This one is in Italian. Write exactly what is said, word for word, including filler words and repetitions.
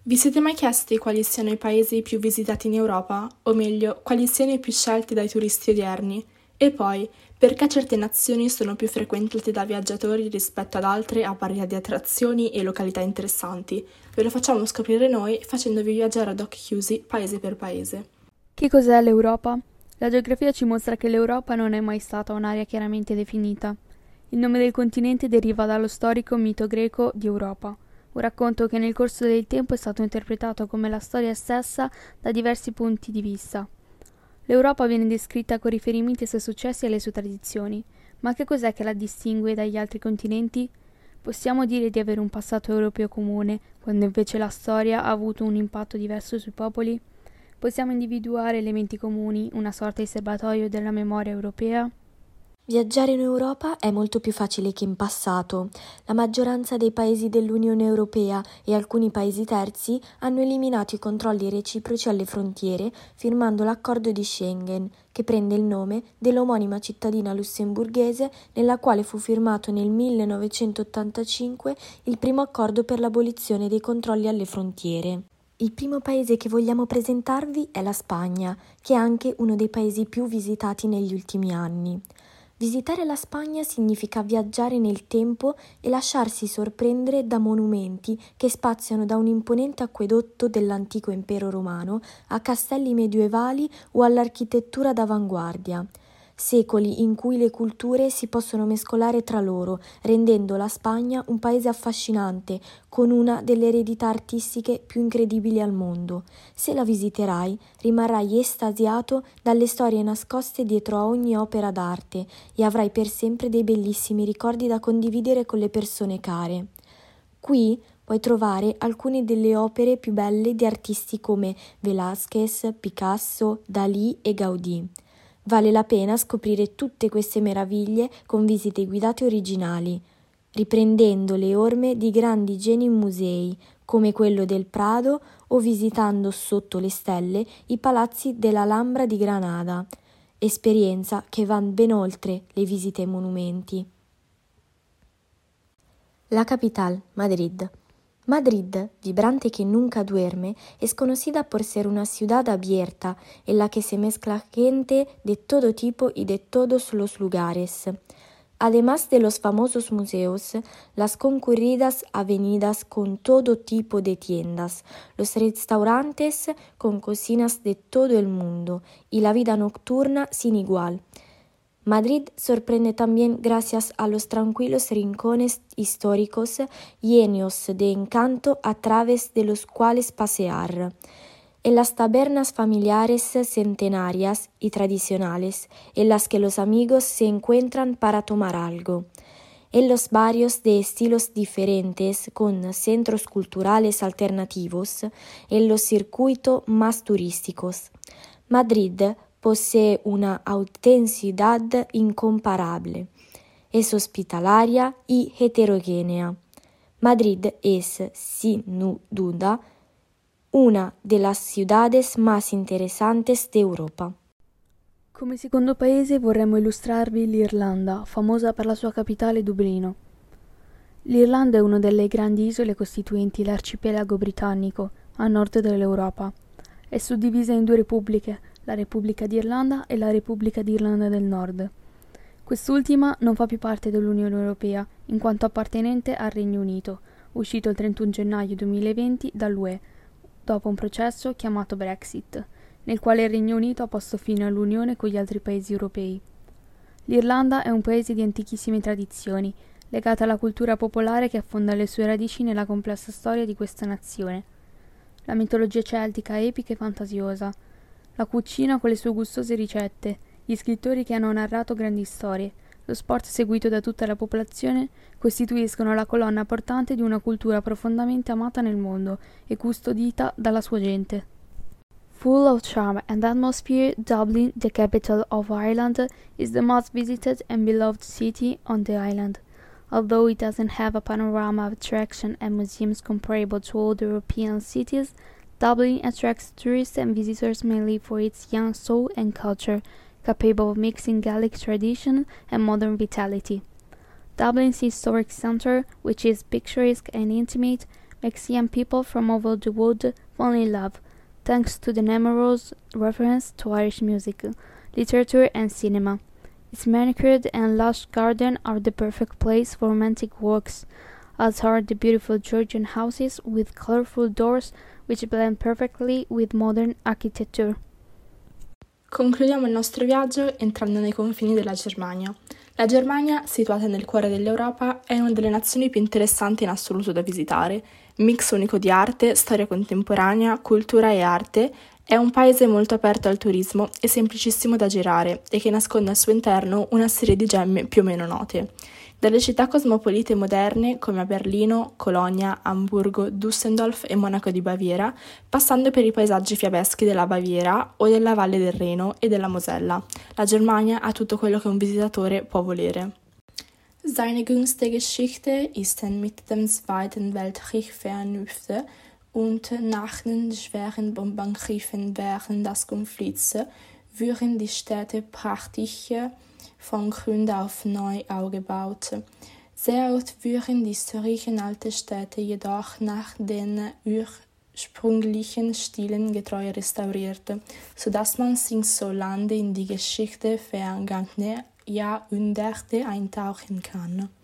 Vi siete mai chiesti quali siano i paesi più visitati in Europa? O meglio, quali siano i più scelti dai turisti odierni? E poi, perché certe nazioni sono più frequentate da viaggiatori rispetto ad altre a parità di attrazioni e località interessanti? Ve lo facciamo scoprire noi facendovi viaggiare ad occhi chiusi paese per paese. Che cos'è l'Europa? La geografia ci mostra che l'Europa non è mai stata un'area chiaramente definita. Il nome del continente deriva dallo storico mito greco di Europa, un racconto che nel corso del tempo è stato interpretato come la storia stessa da diversi punti di vista. L'Europa viene descritta con riferimenti ai suoi successi e alle sue tradizioni, ma che cos'è che la distingue dagli altri continenti? Possiamo dire di avere un passato europeo comune, quando invece la storia ha avuto un impatto diverso sui popoli? Possiamo individuare elementi comuni, una sorta di serbatoio della memoria europea? Viaggiare in Europa è molto più facile che in passato. La maggioranza dei paesi dell'Unione Europea e alcuni paesi terzi hanno eliminato i controlli reciproci alle frontiere firmando l'accordo di Schengen, che prende il nome dell'omonima cittadina lussemburghese nella quale fu firmato nel millenovecentottantacinque il primo accordo per l'abolizione dei controlli alle frontiere. Il primo paese che vogliamo presentarvi è la Spagna, che è anche uno dei paesi più visitati negli ultimi anni. Visitare la Spagna significa viaggiare nel tempo e lasciarsi sorprendere da monumenti che spaziano da un imponente acquedotto dell'antico impero romano a castelli medievali o all'architettura d'avanguardia. Secoli in cui le culture si possono mescolare tra loro, rendendo la Spagna un paese affascinante, con una delle eredità artistiche più incredibili al mondo. Se la visiterai, rimarrai estasiato dalle storie nascoste dietro a ogni opera d'arte e avrai per sempre dei bellissimi ricordi da condividere con le persone care. Qui puoi trovare alcune delle opere più belle di artisti come Velázquez, Picasso, Dalì e Gaudì. Vale la pena scoprire tutte queste meraviglie con visite guidate originali, riprendendo le orme di grandi geni in musei, come quello del Prado, o visitando sotto le stelle i palazzi dell'Alhambra di Granada, esperienza che va ben oltre le visite ai monumenti. La capital, Madrid. Madrid, vibrante que nunca duerme, es conocida por ser una ciudad abierta en la que se mezcla gente de todo tipo y de todos los lugares. Además de los famosos museos, las concurridas avenidas con todo tipo de tiendas, los restaurantes con cocinas de todo el mundo y la vida nocturna sin igual. Madrid sorprende también gracias a los tranquilos rincones históricos llenos de encanto a través de los cuales pasear, en las tabernas familiares centenarias y tradicionales, en las que los amigos se encuentran para tomar algo, en los barrios de estilos diferentes con centros culturales alternativos, en los circuitos más turísticos. Madrid posee una autenticidad incomparable, es hospitalaria y heterogénea. Madrid es, sin duda, una de las ciudades más interesantes de Europa. Come secondo paese vorremmo illustrarvi l'Irlanda, famosa per la sua capitale Dublino. L'Irlanda è una delle grandi isole costituenti l'arcipelago britannico, a nord dell'Europa. È suddivisa in due repubbliche, la Repubblica d'Irlanda e la Repubblica d'Irlanda del Nord. Quest'ultima non fa più parte dell'Unione Europea, in quanto appartenente al Regno Unito, uscito il trentuno gennaio duemilaventi dall'U E, dopo un processo chiamato Brexit, nel quale il Regno Unito ha posto fine all'unione con gli altri paesi europei. L'Irlanda è un paese di antichissime tradizioni, legata alla cultura popolare che affonda le sue radici nella complessa storia di questa nazione. La mitologia celtica è epica e fantasiosa, la cucina con le sue gustose ricette, gli scrittori che hanno narrato grandi storie, lo sport seguito da tutta la popolazione costituiscono la colonna portante di una cultura profondamente amata nel mondo e custodita dalla sua gente. Full of charm and atmosphere, Dublin, the capital of Ireland, is the most visited and beloved city on the island. Although it doesn't have a panorama of attraction and museums comparable to other European cities, Dublin attracts tourists and visitors mainly for its young soul and culture, capable of mixing Gaelic tradition and modern vitality. Dublin's historic centre, which is picturesque and intimate, makes young people from all over the world fall in love, thanks to the numerous references to Irish music, literature and cinema. Its manicured and lush garden are the perfect place for romantic walks, as are the beautiful Georgian houses with colorful doors which blend perfectly with modern architecture. Concludiamo il nostro viaggio entrando nei confini della Germania. La Germania, situata nel cuore dell'Europa, è una delle nazioni più interessanti in assoluto da visitare. Mix unico di arte, storia contemporanea, cultura e arte, è un paese molto aperto al turismo e semplicissimo da girare e che nasconde al suo interno una serie di gemme più o meno note. Dalle città cosmopolite moderne come a Berlino, Colonia, Amburgo, Düsseldorf e Monaco di Baviera, passando per i paesaggi fiabeschi della Baviera o della Valle del Reno e della Mosella, la Germania ha tutto quello che un visitatore può volere. Seine jüngste Geschichte ist mit dem Zweiten Weltkrieg verknüpft und nach den schweren Bombenangriffen während des Konflikts wurden die Städte praktisch von Grund auf neu aufgebaut. Sehr oft wurden die historischen alten Städte jedoch nach den ursprünglichen Stilen getreu restauriert, sodass man sich so lange in die Geschichte vergangener Jahrhunderte eintauchen kann.